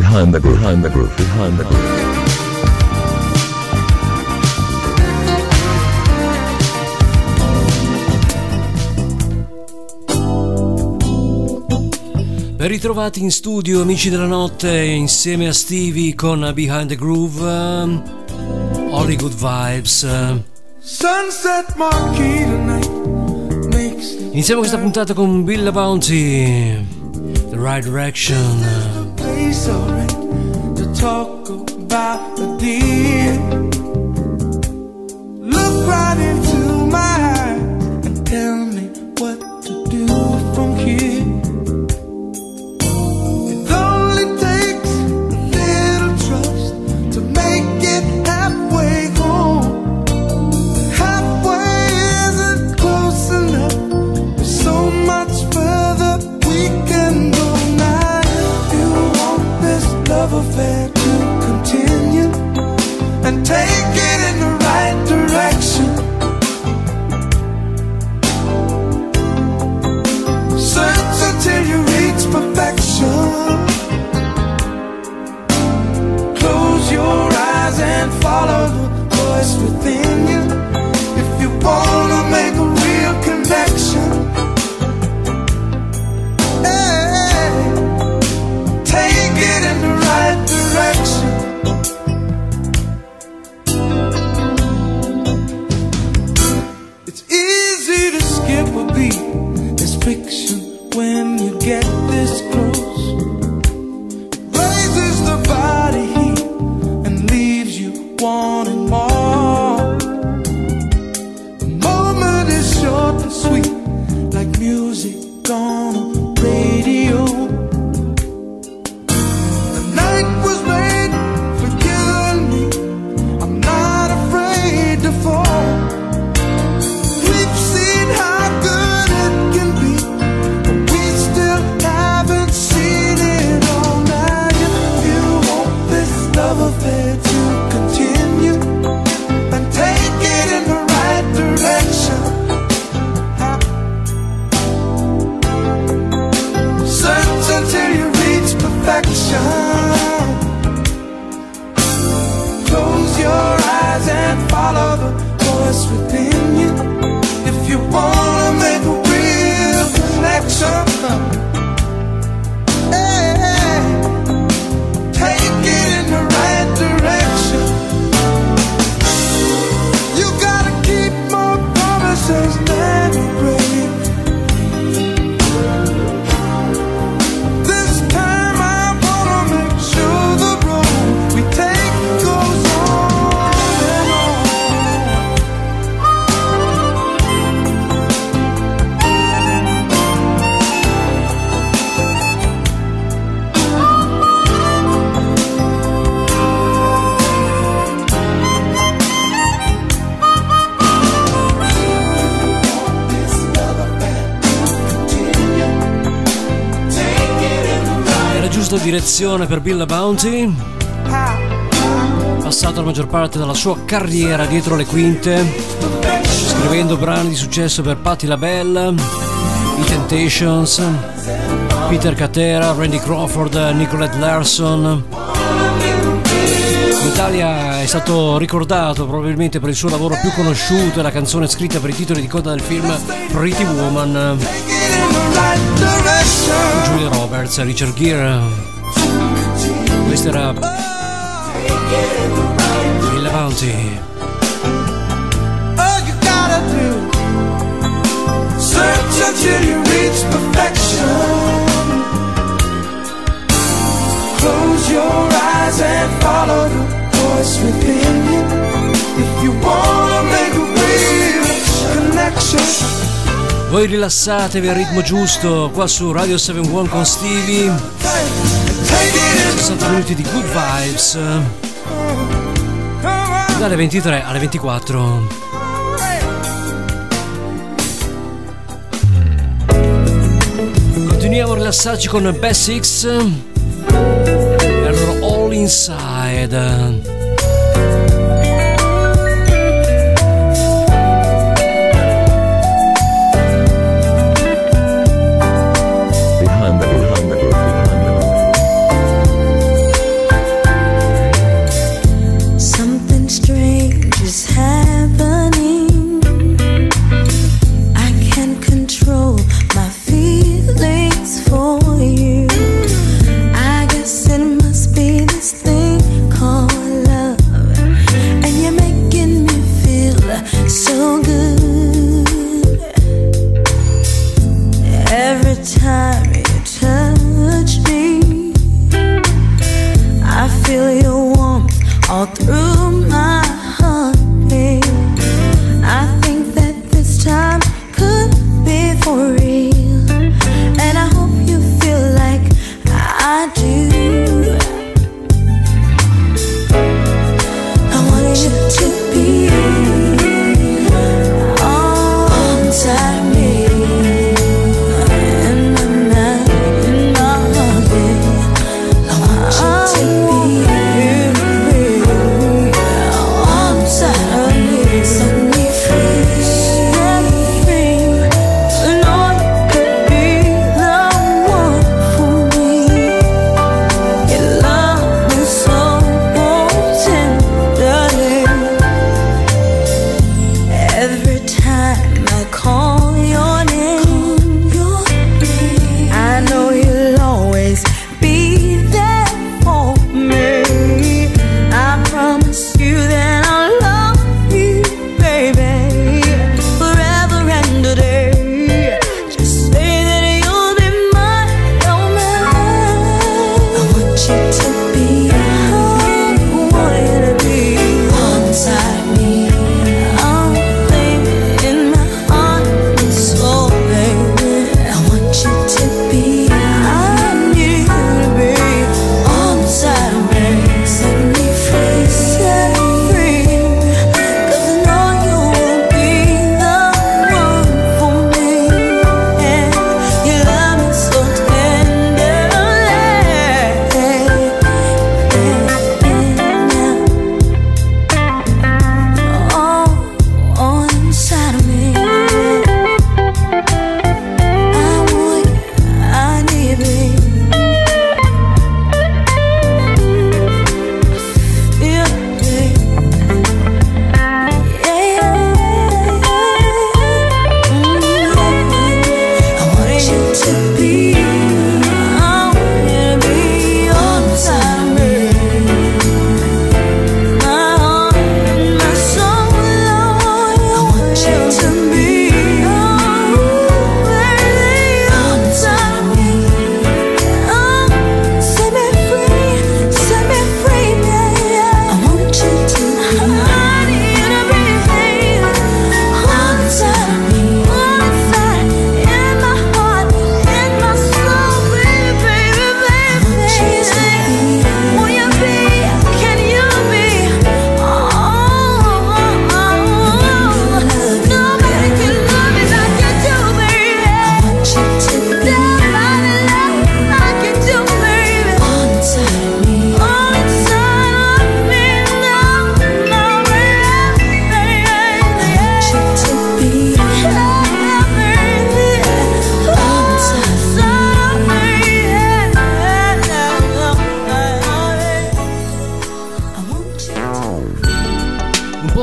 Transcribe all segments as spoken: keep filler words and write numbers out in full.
Behind the groove, behind the groove, behind the groove. Ben ritrovati in studio, amici della notte, insieme a Stevie con Behind the Groove, um, All Good Vibes. Sunset marquee tonight makes Iniziamo questa puntata con Bill Bounty, The Right Direction. place alright to talk about the deal. Look right into my eyes and tell me what to do from here. Affair to continue and take it in the right direction. Search until you reach perfection. Close your eyes and follow the voice within you. If you wanna make a real connection, it's easy to skip a beat. It's friction when you get this close. Raises the body heat and leaves you wanting more. The moment is short and sweet, like music on a radio. Close your eyes and follow the voice within you. If you wanna make a real connection, hey, take it in the right direction. You gotta keep more promises than you break. Direzione per Bill Bounty, passato la maggior parte della sua carriera dietro le quinte, scrivendo brani di successo per Patti LaBelle, I Temptations, Peter Cetera, Randy Crawford, Nicolette Larson. In Italia è stato ricordato probabilmente per il suo lavoro più conosciuto e la canzone scritta per i titoli di coda del film Pretty Woman, Julia Roberts, Richard Gere. Questo era Bill Bounty. All you gotta do, search until you reach perfection. Close your eyes and follow the voice within you. If you wanna make a real connection. Voi rilassatevi al ritmo giusto qua su Radio settantuno con Stevie. sessanta minuti di good vibes dalle ventitré alle ventiquattro. Continuiamo a rilassarci con Basics e il loro All Inside. Behind the groove, behind the groove, behind the groove.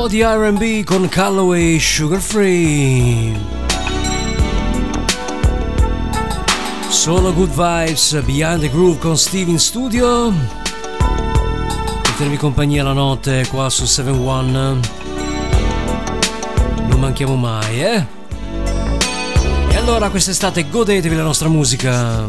po' di R and B con Calloway, Sugar Free. Solo good vibes, Behind the Groove con Steve in studio. Per tenervi compagnia la notte qua su sette uno. Non manchiamo mai, eh? E allora quest'estate godetevi la nostra musica.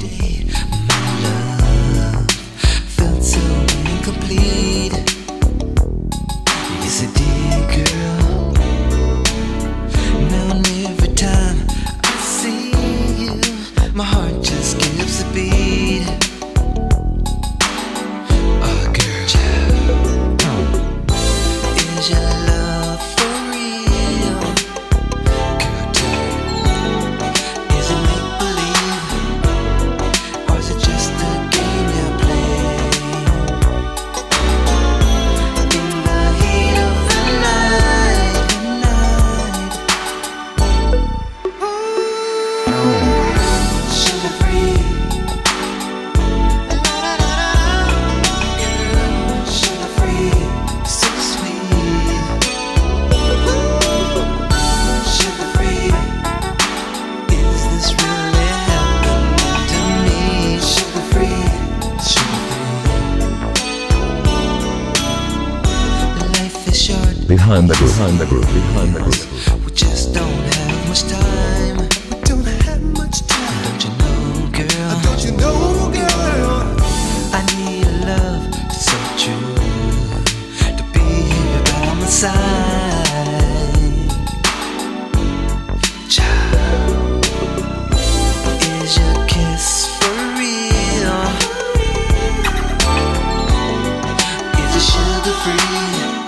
Behind the groove, behind the groove, behind the groove. We just don't have much time. We don't have much time. Don't you know, girl? Don't you know, girl? I need a love so true to be here by my side. Child, is your kiss for real? Is it sugar free?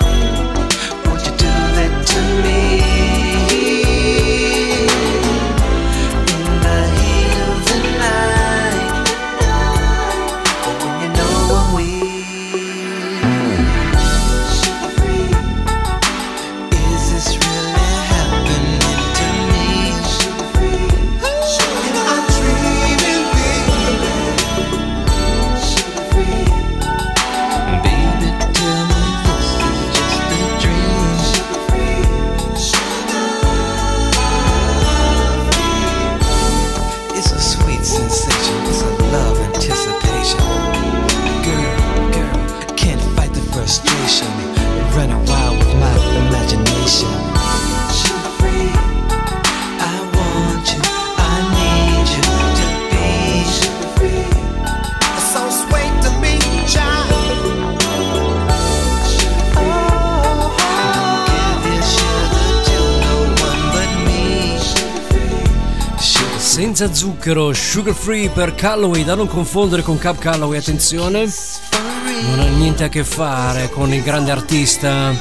To me, in the heat of the night, but when you know I'm weak, sugar free, is this really happening to me? Sugar free, and I'm dreaming, baby, sugar free, baby, tell me this is just a dream. It's a sweet sensation, it's a love anticipation. Girl, girl, I can't fight the frustration, running wild with my imagination. Sugar free, I want you, I need you to be sugar free. So sweet to me, child. Oh, don't give your sugar to no one but me. Senza zucchero, Sugar Free per Calloway, da non confondere con Cab Calloway, attenzione, non ha niente a che fare con il grande artista.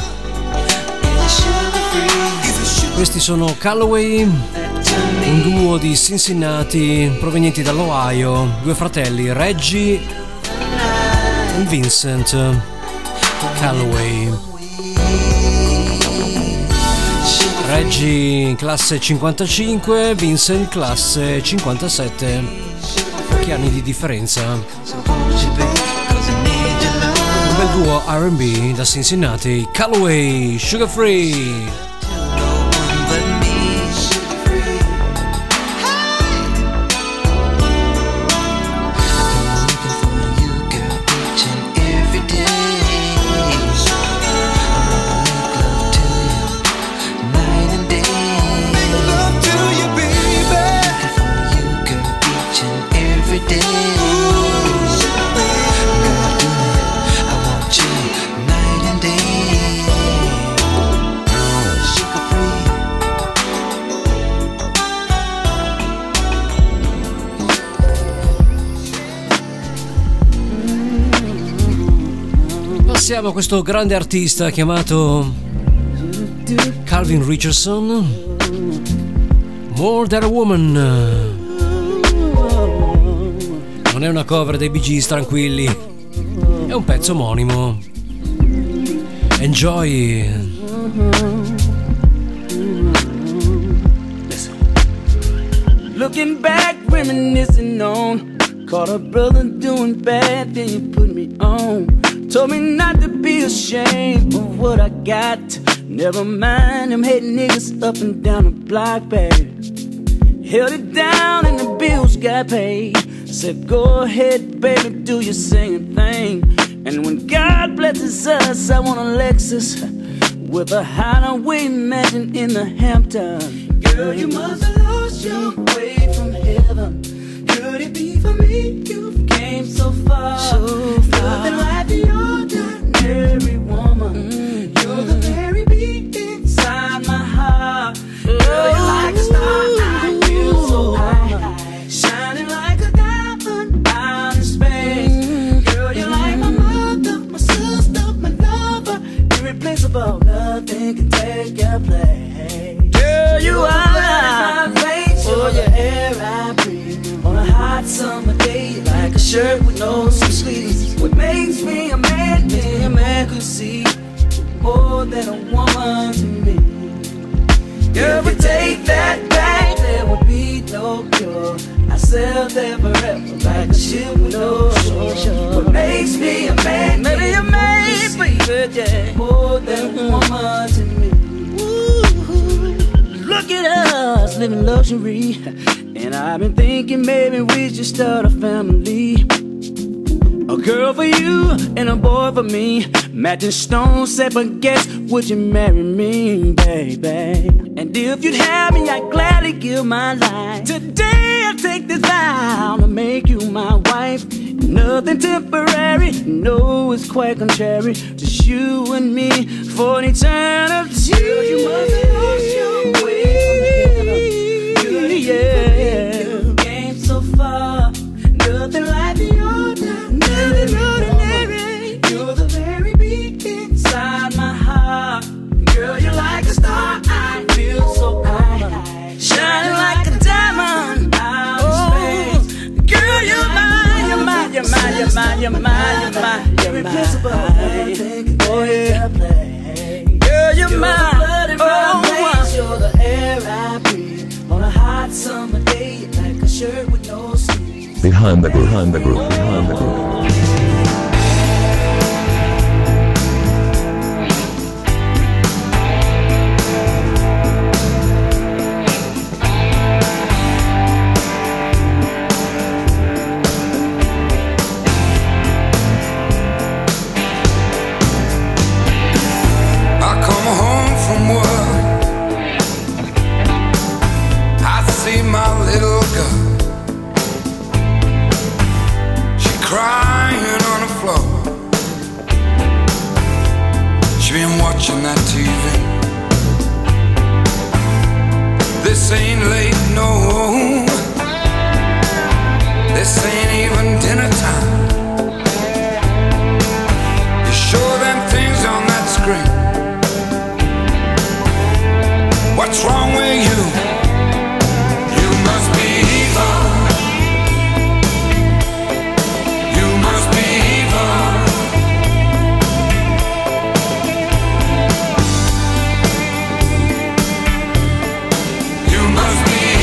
Questi sono Calloway, un duo di Cincinnati provenienti dall'Ohio, due fratelli, Reggie e Vincent Calloway. Reggie classe cinquantacinque, Vincent classe cinquantasette, pochi anni di differenza. Un bel duo R and B da Cincinnati, Calloway, Sugar Free. Passiamo a questo grande artista chiamato Calvin Richardson, More Than a Woman. Non è una cover dei Bee Gees, tranquilli, è un pezzo omonimo. Enjoy. Looking back, reminiscing on, caught a brother doing bad, then you put me on. Told me not to be ashamed of what I got. Never mind them hating niggas up and down the block, baby. Held it down and the bills got paid. Said go ahead, baby, do your singing thing. And when God blesses us, I want a Lexus with a hideaway mansion in the Hamptons. Girl, you must have lost your way from heaven. Could it be for me? You came so far, so far. Nothing like the ordinary woman. Mm-hmm. You're the very beat inside my heart. Girl, you're like a star, I feel so high, shining like a diamond out in space. Mm-hmm. Girl, you're like my mother, my sister, my lover. Irreplaceable, nothing can take your place. Girl, you are my face, oh, your air I breathe. On a hot summer day, like a shirt with no sleeves. What makes me a man, me a man could see more than a woman to me. Girl, if we take that back, there would be no cure. I sail there forever like a ship with no shore. What makes me a man, maybe a man, baby, yeah, more than a woman to me. Ooh, look at us, living luxury. And I've been thinking maybe we should start a family. A girl for you and a boy for me. Matching stones set, but guess, would you marry me, baby? And if you'd have me, I'd gladly give my life. Today I'll take this vow to make you my wife. Nothing temporary, no, it's quite contrary. Just you and me for an eternity. Girl, you must have lost your way from heaven. Good, yeah, you came so far. Nothing like the ordinary, ordinary. You're the very beat inside my heart. Girl, you're like a star, I feel so high, shining like a diamond out in space. Girl, you're mine, you're mine, you're mine, you're mine, you're mine, you're mine, you're mine. Oh yeah, girl, you're mine. Oh, you're the air I breathe on a hot summer day, like a shirt with no sleeves. Behind the groove, behind the groove, behind the groove. Crying on the floor. She been watching that T V. This ain't late, no. This ain't even dinner time. You show them things on that screen. What's wrong with you? You must be evil. You must be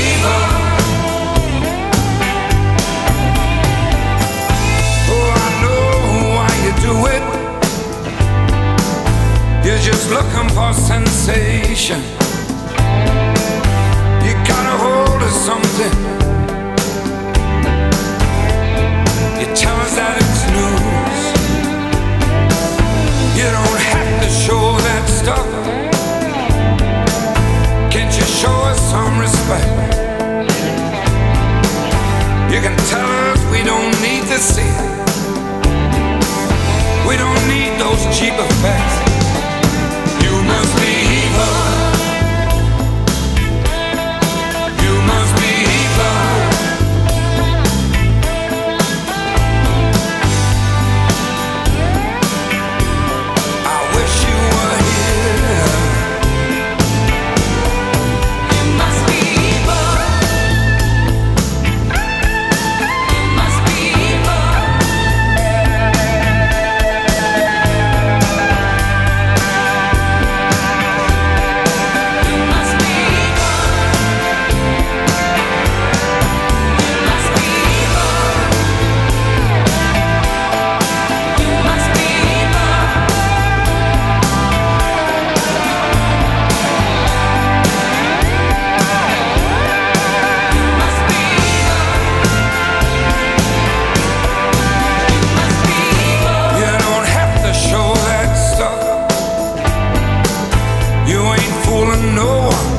one, no one.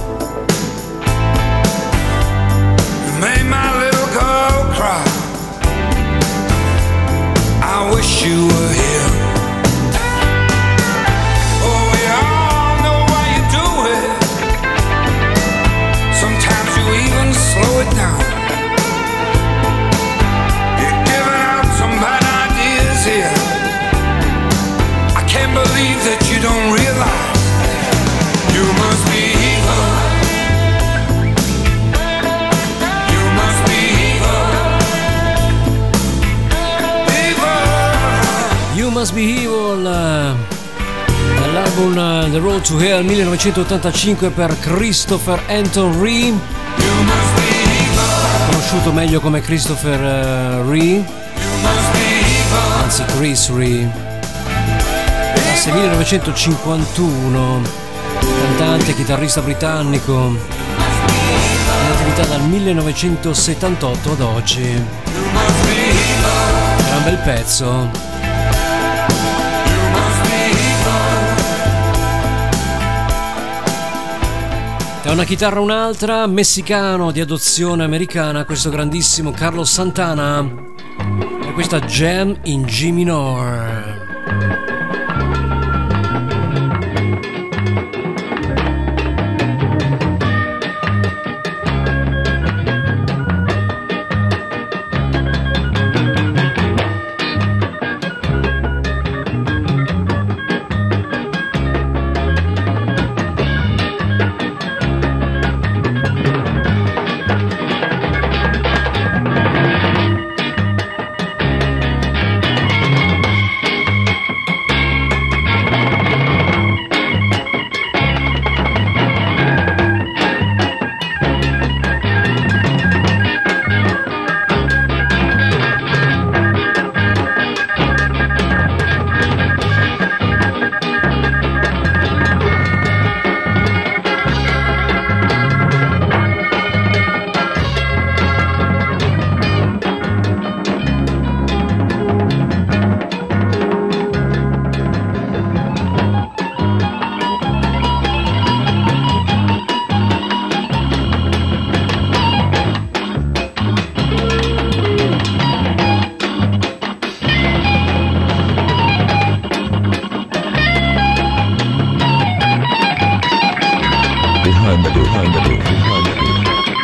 You made my little girl cry. I wish you were here. Oh, we all know why you do it. Sometimes you even slow it down. You're giving out some bad ideas here. I can't believe that you don't realize you must be evil. You must be evil. Evil. You Must Be Evil, eh, dall'album eh, The Road to Hell millenovecentottantacinque per Christopher Anton Ree, You must be evil. conosciuto meglio come Christopher eh, Ree, You must be evil. anzi Chris Ree. Classe millenovecentocinquantuno, cantante e chitarrista britannico, in attività dal millenovecentosettantotto ad oggi. Gran bel pezzo. Da una chitarra a un'altra, messicano di adozione americana, questo grandissimo Carlos Santana, e questa Jam in G minor. Behind the groove, behind the groove, behind the groove.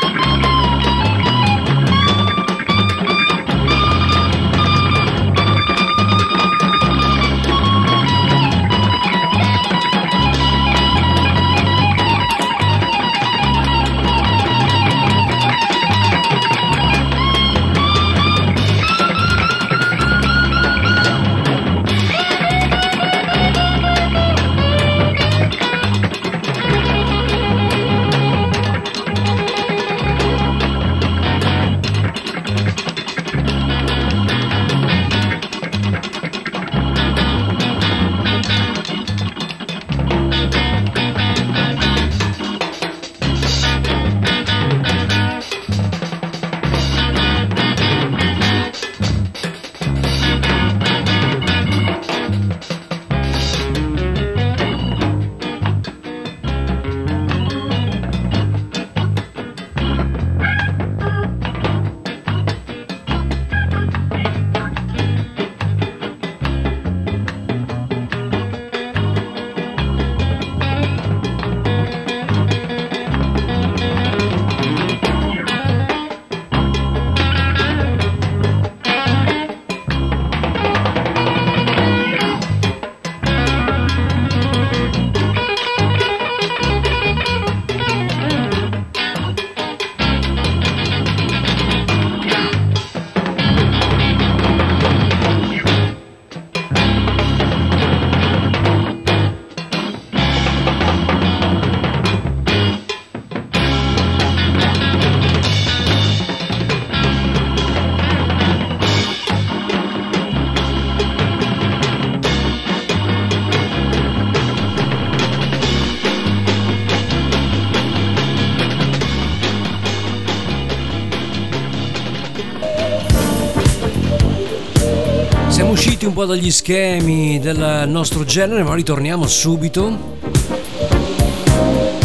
Siamo usciti un po' dagli schemi del nostro genere, ma ritorniamo subito.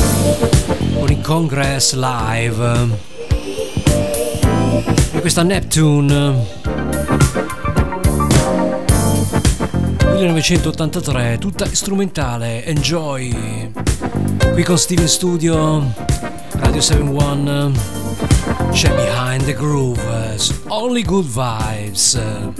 Congress Live. E questa Neptune millenovecentottantatré, tutta strumentale. Enjoy qui con Steve in studio, Radio settantuno. C'è Behind the Groove, only good vibes.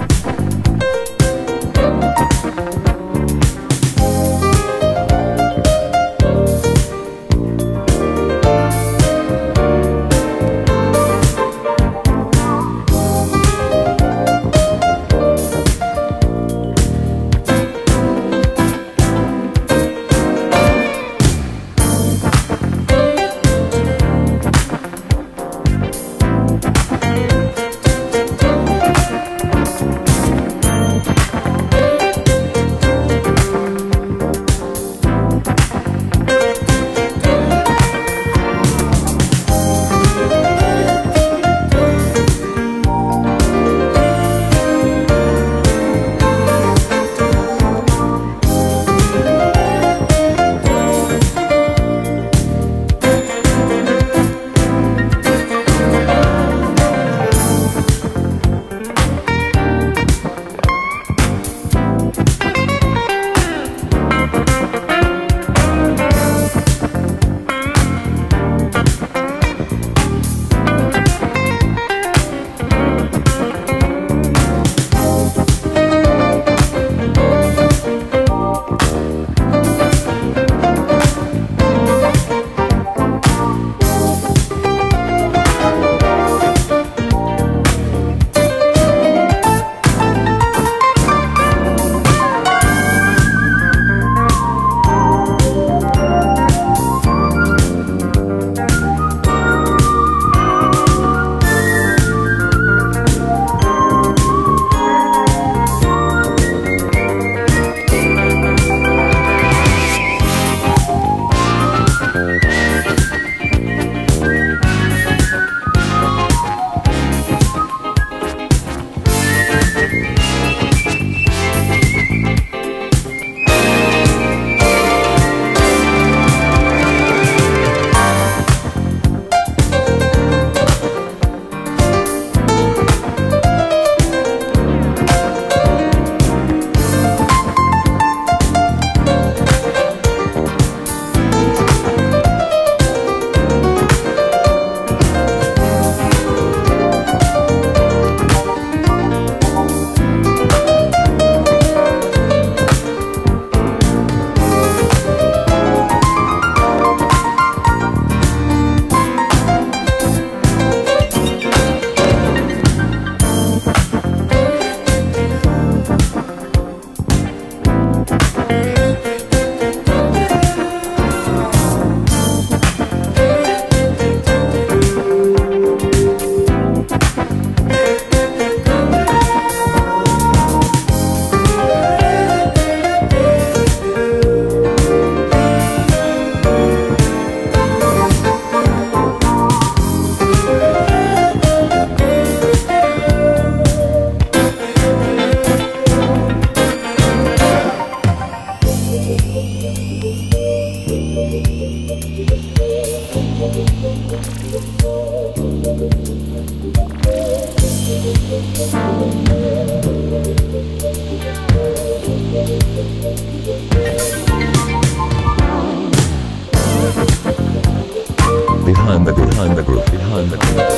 Behind the groove, behind the groove, behind the groove.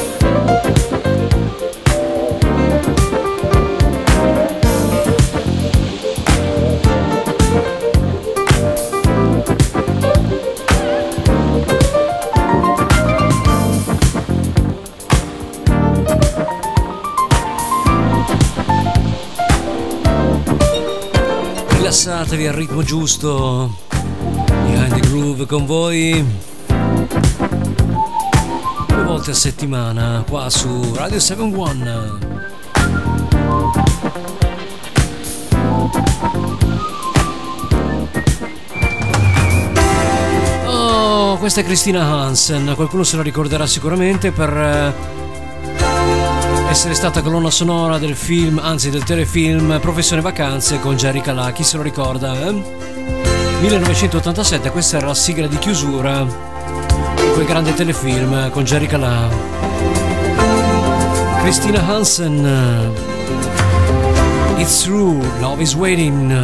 Rilassatevi al ritmo giusto. Behind the Groove con voi due volte a settimana qua su Radio settantuno. Oh, questa è Christina Hansen, qualcuno se la ricorderà sicuramente per essere stata colonna sonora del film, anzi del telefilm Professione Vacanze con Jerry Calà. Chi se lo ricorda? Eh? millenovecentottantasette, questa era la sigla di chiusura quel grande telefilm con Jerry Calà. Christina Hansen, It's True, Love is Waiting.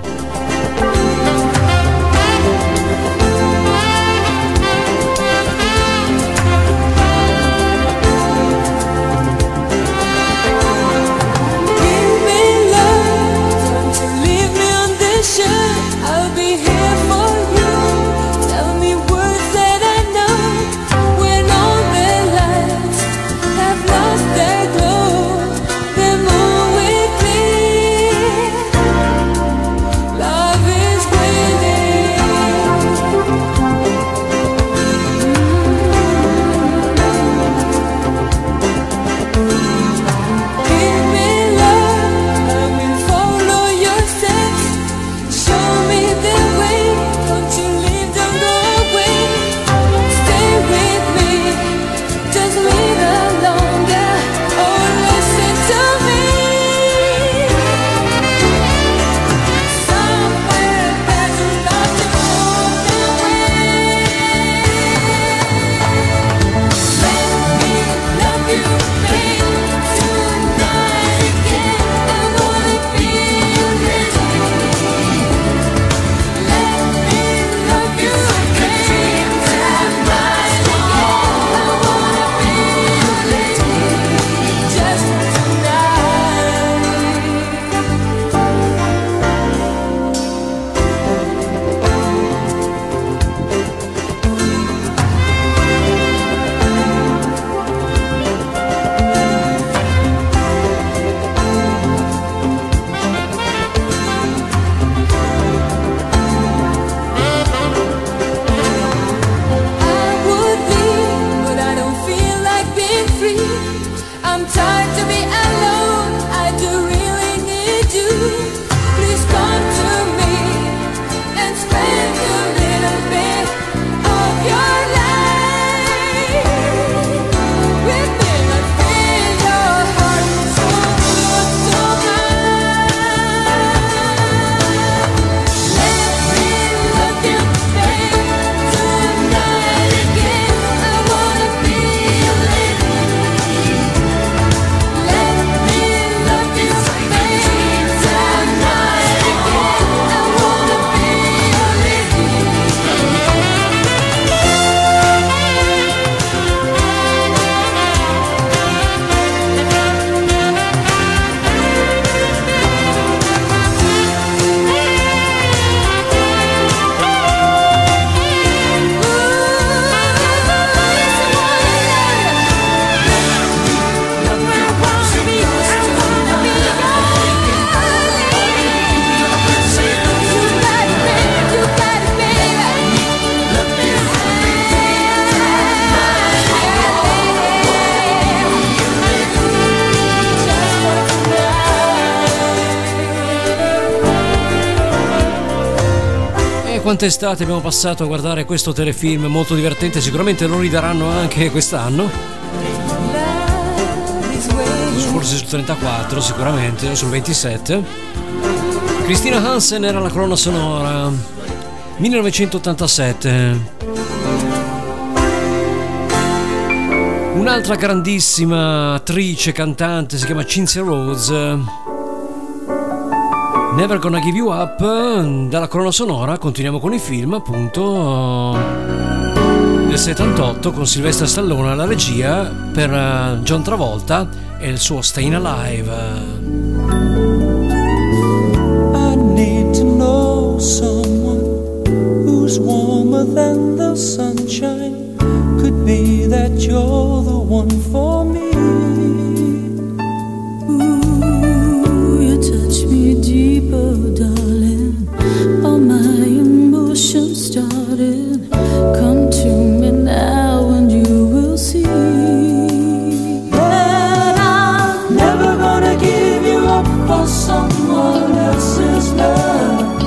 Quante estate abbiamo passato a guardare questo telefilm molto divertente, sicuramente lo ridaranno anche quest'anno, forse su trentaquattro sicuramente, o sul ventisette. Christina Hansen era la colonna sonora, millenovecentottantasette. Un'altra grandissima attrice, cantante, si chiama Cynthia Rhodes, Never Gonna Give You Up. Dalla colonna sonora continuiamo con i film, appunto, del settantotto, con Sylvester Stallone alla regia, per John Travolta e il suo Stayin' Alive. I need to know someone who's warmer than the sunshine. Could be that you're the one for me. Deeper, darling, all my emotions started. Come to me now and you will see that I'm never gonna give you up for someone else's love.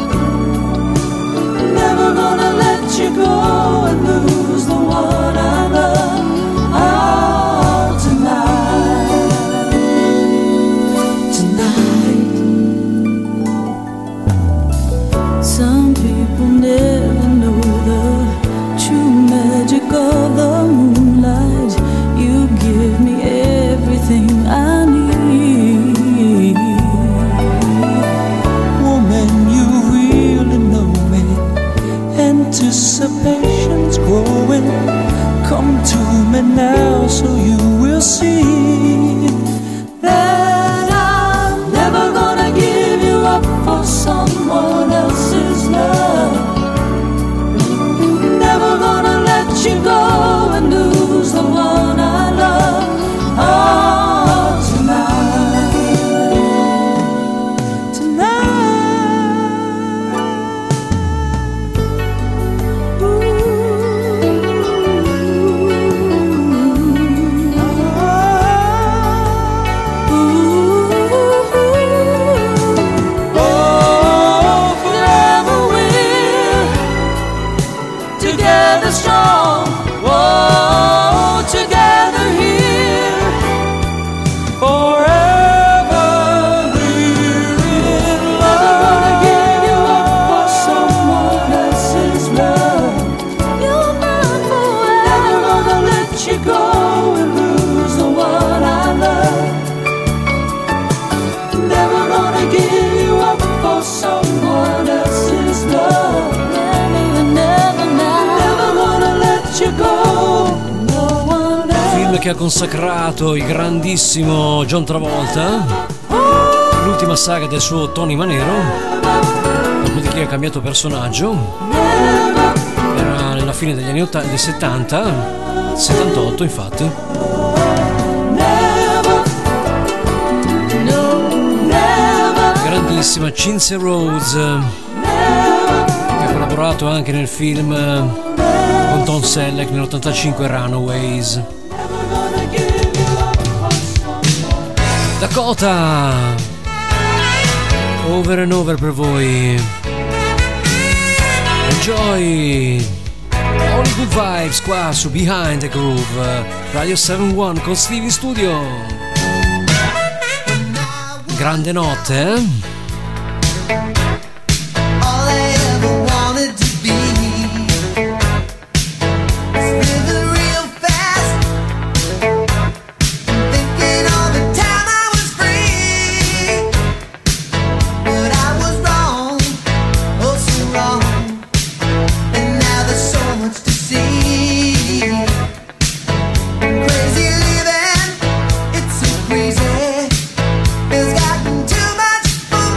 Never gonna let you go and lose the one I love. Oh, tonight, tonight magic of the moonlight. You give me everything I need. Woman, you really know me. Anticipation's growing. Come to me now so you will see That I'm never gonna give you up for someone else's love. Never gonna let you go and lose the one I love. Oh, tonight, tonight, ooh, ooh, oh, forever we're together strong. Whoa, together here. forever we're in Never gonna give you up for love. someone else's love. You're mine forever. Never gonna let you go and lose the one I love. Never gonna give you up for someone else's love. Never, never, never gonna let you go. No one else. Film che ha consacrato il grandissimo John Travolta, l'ultima saga del suo Tony Manero, dopodiché ha cambiato personaggio, era nella fine degli anni ottanta, del settanta, settantotto infatti. Never, no, never, Grandissima Cinzia Rhodes, che ha collaborato anche nel film eh, con Tom Selleck nell'ottantacinque Runaways. Dakota, over and over per voi. Enjoy all the good vibes qua su Behind the Groove, Radio settantuno con Steve in studio. Grande notte, eh? All I ever wanted to be is living real fast, thinking all the time I was free, but I was wrong, oh so wrong, and now there's so much to see. Crazy living, it's so crazy, it's gotten too much for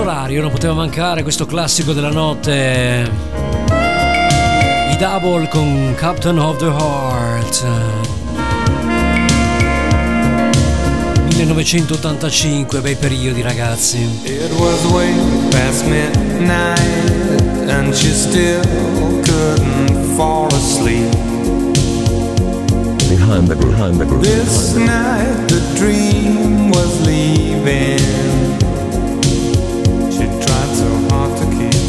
particolari, non poteva mancare questo classico della notte, i Double con Captain of the Heart, millenovecentottantacinque, bei periodi ragazzi. It was way past midnight and she still couldn't fall asleep. Behind the groove, behind the groove. This night the dream was leaving. She tried so hard to keep.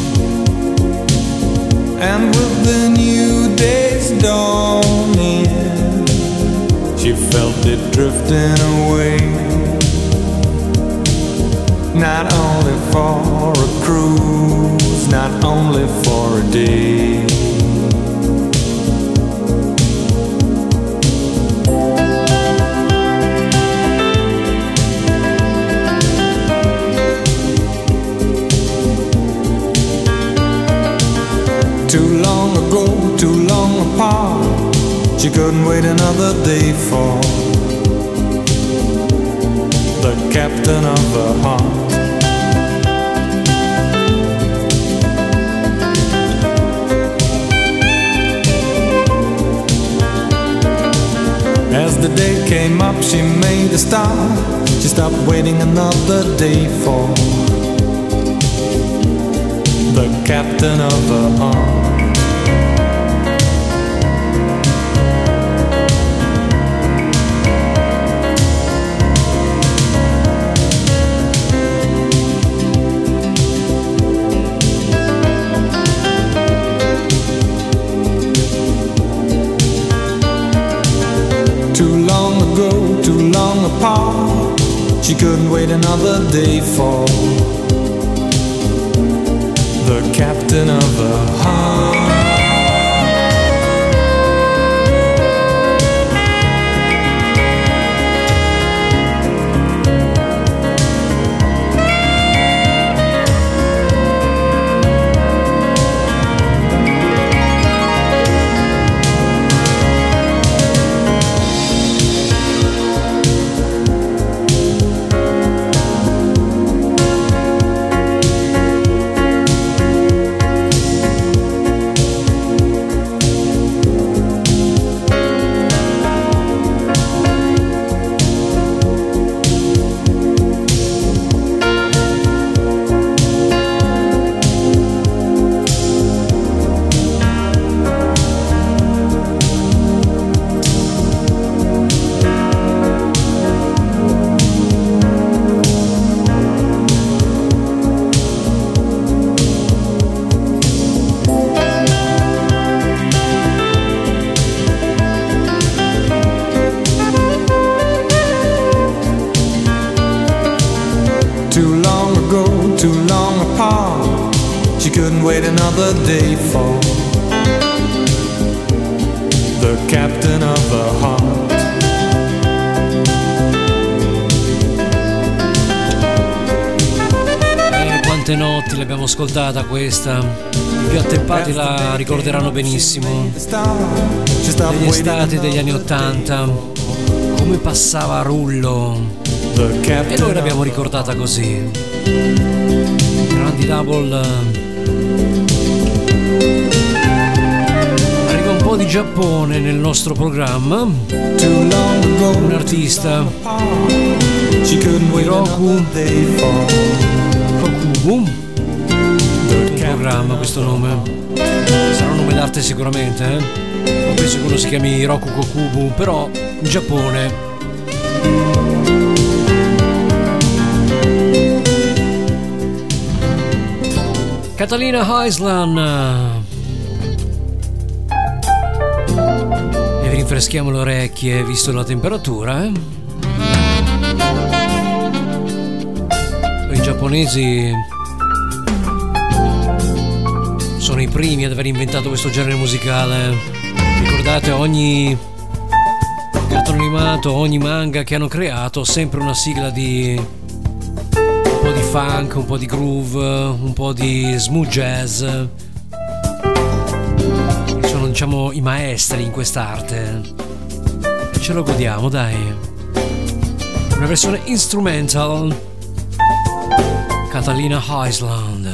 And with the new day's dawning, she felt it drifting away. Not only for a cruise, not only for a day. Too long ago, too long apart, she couldn't wait another day for the captain of her heart. As the day came up, she made a start. She stopped waiting another day for the captain of her heart. Too long ago, too long apart, she couldn't wait another day for the captain of her heart. Wait another day for the captain of the heart. Eh, quante notti l'abbiamo ascoltata questa. I più attempati la ricorderanno benissimo. Degli estati degli anni ottanta, come passava a rullo. E noi l'abbiamo ricordata così. Grandi Double. Arriva un po' di Giappone nel nostro programma. Un artista, Hiroku Kokubu. Un programma questo nome. Sarà un nome d'arte sicuramente, eh? Non penso che uno si chiami Hiroku Kokubu, però in Giappone. Catalina Island. E vi rinfreschiamo le orecchie visto la temperatura, eh? I giapponesi sono i primi ad aver inventato questo genere musicale. Ricordate, ogni cartone animato, ogni manga che hanno creato, sempre una sigla di un po' di funk, un po' di groove, un po' di smooth jazz. Sono, diciamo, i maestri in quest'arte e ce lo godiamo, dai. Una versione instrumental, Catalina Island.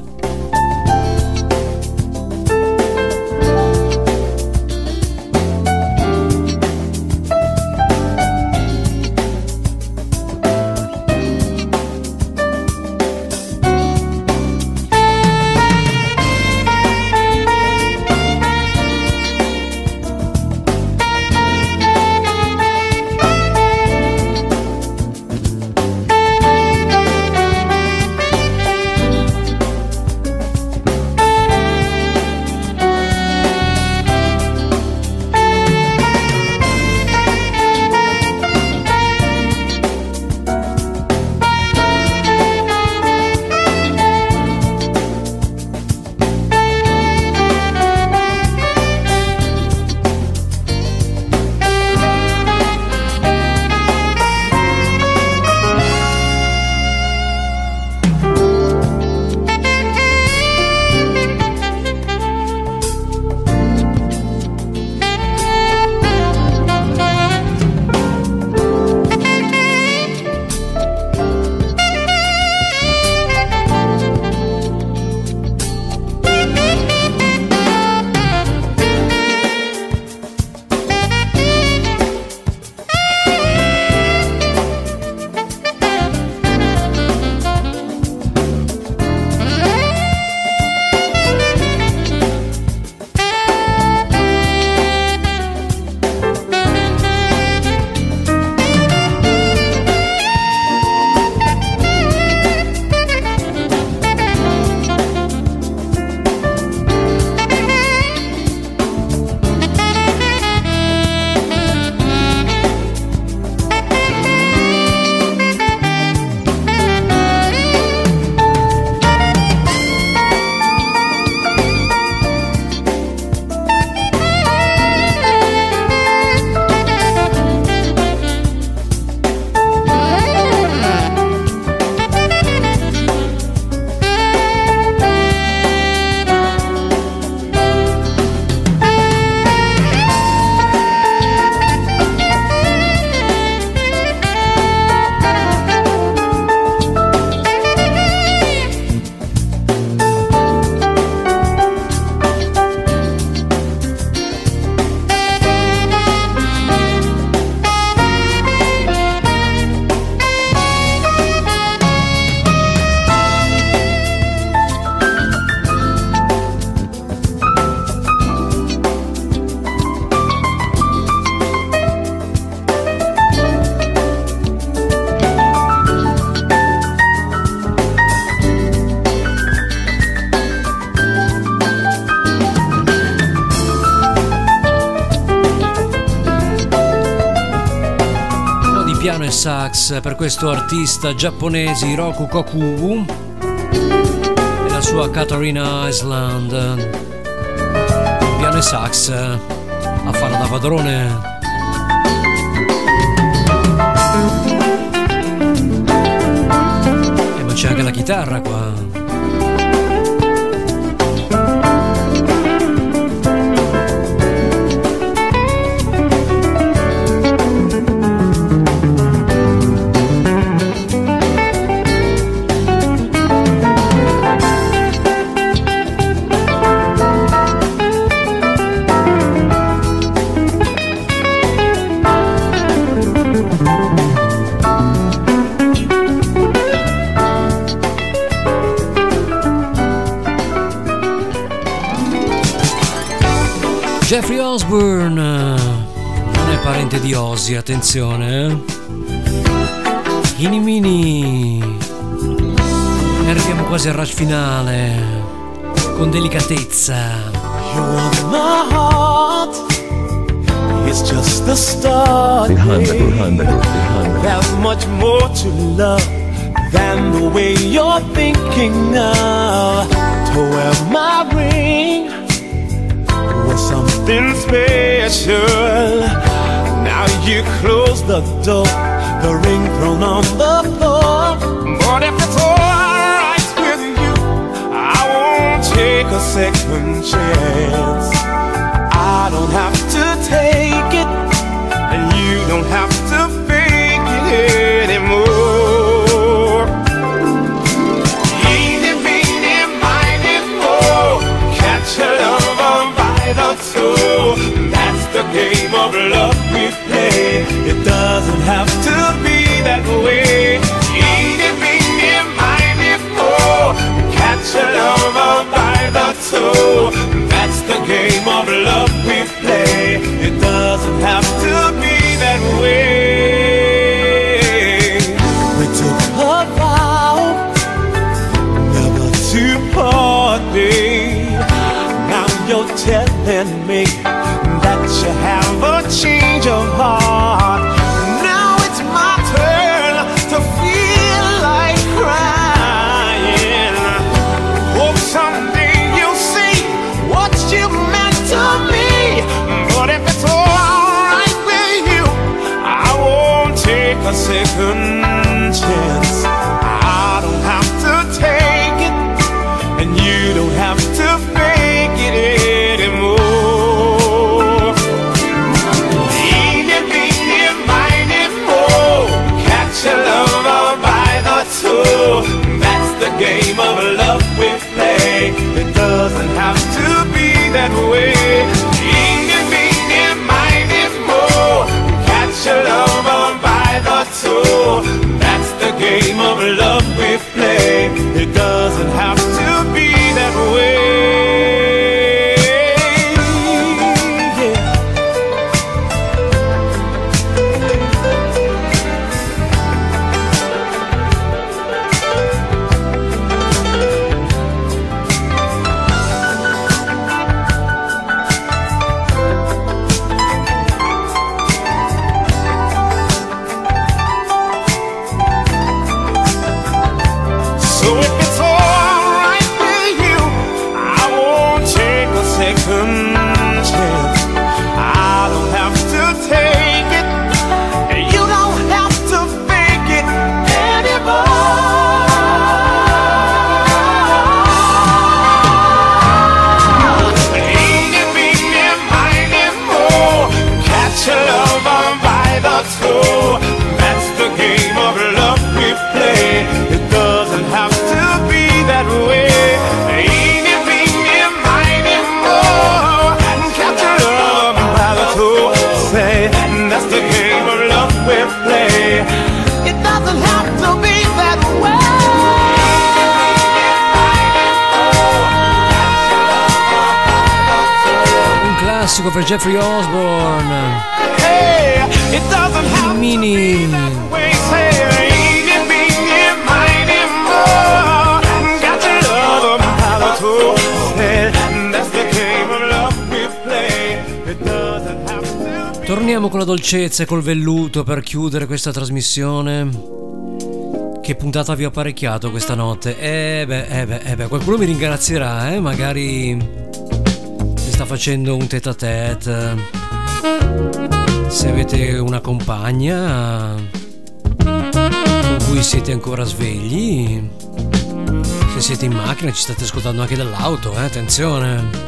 Piano e sax per questo artista giapponese Hiroku Kokubu e la sua Katarina Island. Piano e sax a farla da padrone. E ma c'è anche la chitarra qua. Jeffrey Osborne non è parente di Ozzy, attenzione, eh? Ini Mini. E arriviamo quasi al rush finale, con delicatezza. You want my heart, it's just the start. Behind the groove, behind the groove, behind the groove. There's much more to love than the way you're thinking now. To wear my ring was something special. Now you close the door, the ring thrown on the floor. But if it's alright with you, I won't take a second chance. I don't have to take it, and you don't have to fake it anymore. telling me that you have a change of heart. Now it's my turn to feel like crying. Hope someday you'll see what you meant to me. But if it's alright with you, I won't take a second chance. I don't have to take it, and you don't have to fake it anymore. Eeny, meeny, miny, moe, catch a lover by the toe. That's the game of love we play. It doesn't have to be that way. Eeny, meeny, miny, moe, catch a lover by the toe. That's the game of love we play. It doesn't have to be that way. So if it's alright with you, I won't take a second chance. I don't have to take it, and you don't have to fake it anymore. Eeny, meeny, miny, moe, catch a lover by the toe. That's the game of love we play. It doesn't have to be that way. Eeny, meeny, miny, moe, catch a lover by the toe. Say, that's the game of love we play. It doesn't have to be that way. Un classico per Jeffrey Osborne. Hey, it doesn't have Mini. way. Say, eeny, meeny, miny, moe, catch a lover by the toe. Say, that's the game of love we play. It doesn't have to. Torniamo con la dolcezza e col velluto per chiudere questa trasmissione. Che puntata vi ho apparecchiato questa notte? Eh beh, eh beh, eh beh, qualcuno mi ringrazierà, eh? Magari mi sta facendo un tête à tête. Se avete una compagna con cui siete ancora svegli, se siete in macchina, ci state ascoltando anche dall'auto, eh? Attenzione!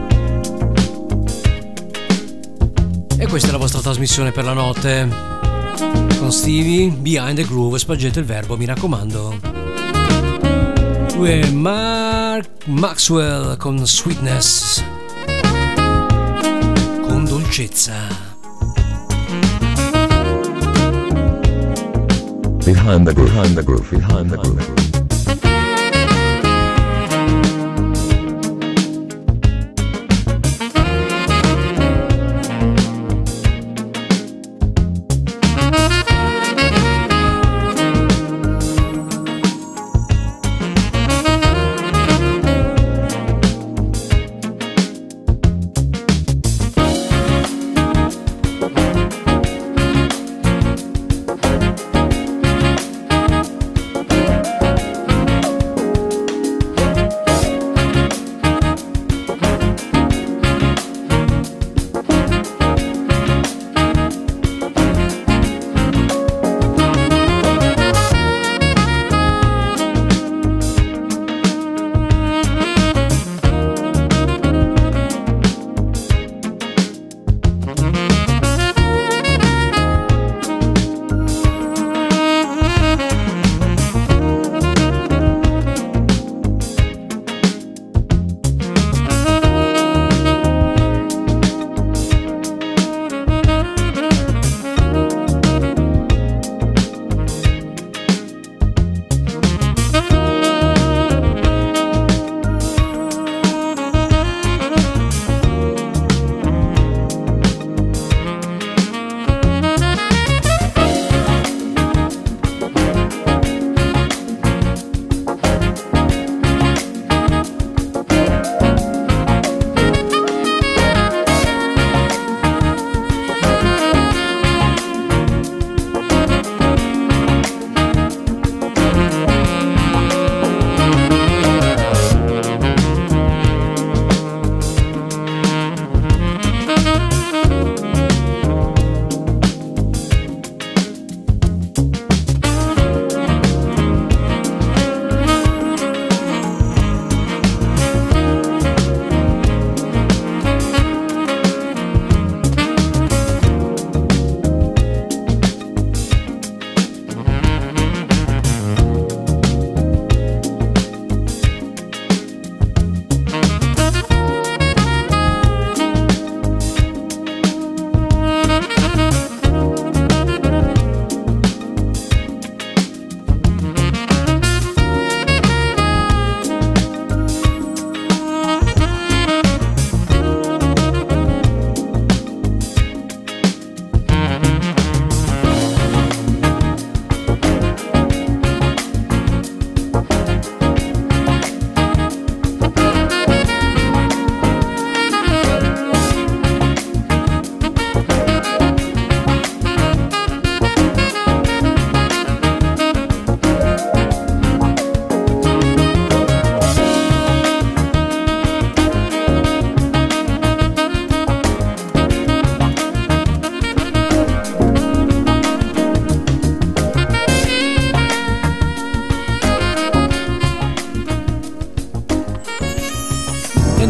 E questa è la vostra trasmissione per la notte con Stevie, Behind the Groove. Spargete il verbo, mi raccomando. Lui è Mark Maxwell con Sweetness, con dolcezza. Behind the groove, behind the groove, behind the groove.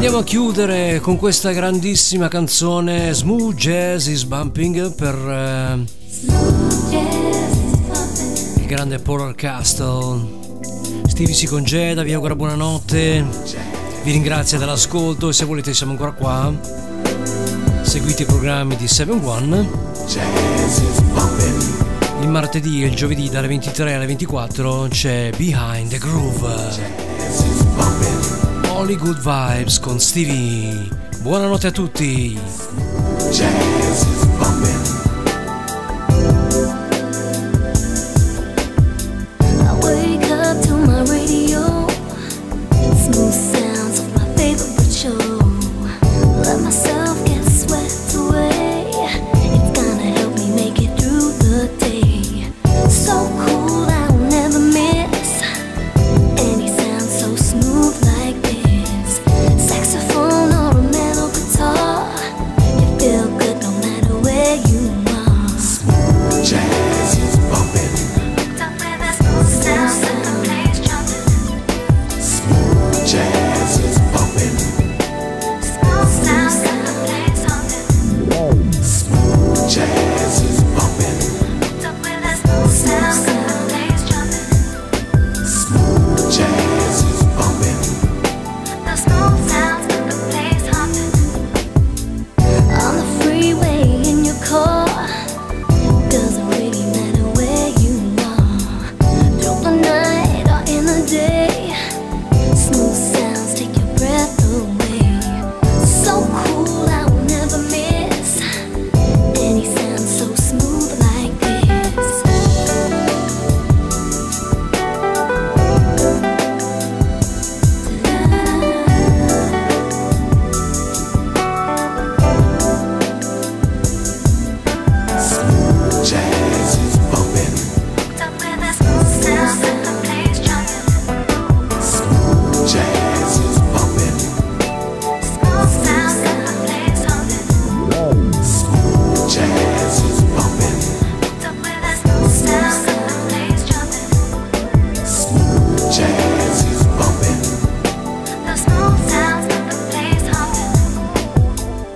Andiamo a chiudere con questa grandissima canzone Smooth Jazz is Bumping per eh, il grande Paul Castle. Stevie si congeda, vi augura buonanotte, vi ringrazio dell'ascolto e se volete siamo ancora qua, seguite i programmi di sette One. Il martedì e il giovedì dalle ventitré alle ventiquattro c'è Behind the Groove. Only Good Vibes con Stevie. Buonanotte a tutti. Jazz is bumping. I wake up to my radio, smooth sounds of my favorite show. Let myself get swept away. It's gonna help me make it through the day. So cool I will never miss any sound so smooth like this. Saxophone or a metal guitar, you feel good no matter where you are. Smooth jazz is bumping. Up with that smooth sound, set the place jumping. Smooth jazz is bumping. Smooth sound, set the place jumping. Smooth jazz is bumping. Up with that smooth sound, set the place jumping. Smooth jazz is bumping. The smooth sounds set the place humping. On the freeway in your car, doesn't really matter where you are. Through the night or in the day, smooth sounds take your breath away. So cool I will never miss any sound so smooth like this. Smooth jazz is bumping. Up with that smooth sound, set the place jumping. Smooth jazz is bumping. Smooth sound, set the place humping. Smooth jazz is bumping. Up with that smooth sound, set the place jumping. Smooth jazz is bumping. The smooth sounds set the place humping.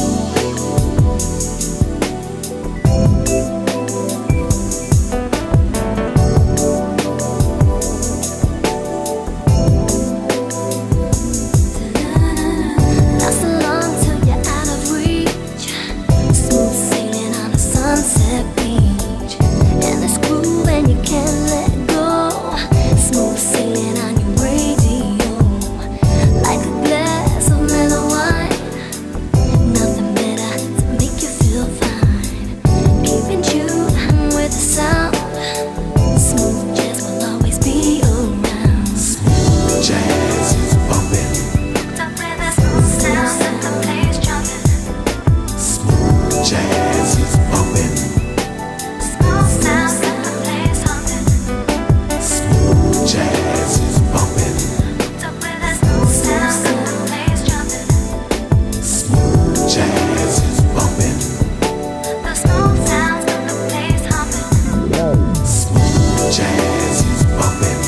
Not so long till you're out of reach. Smooth sailing on a sunset beach. And it's groove and you can't let go. Smooth sailing on your radio. Like a glass of mellow wine. Nothing better to make you feel fine. Keeping tuned with the sound. Smooth jazz will always be around. Smooth jazz is bumping. Up with that smooth sound, set the place jumping. Smooth jazz is bumping. Smooth sound, set the place humping. Smooth jazz is bumping. Up with that smooth sound, set the place jumping. Smooth jazz is bumping. The smooth sound, set the place humping. Smooth jazz is bumping.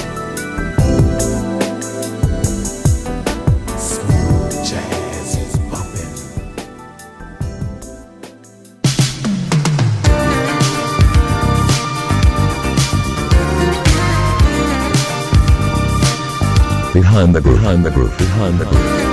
Smooth jazz is bumping. Behind the groove, behind the groove, behind the groove.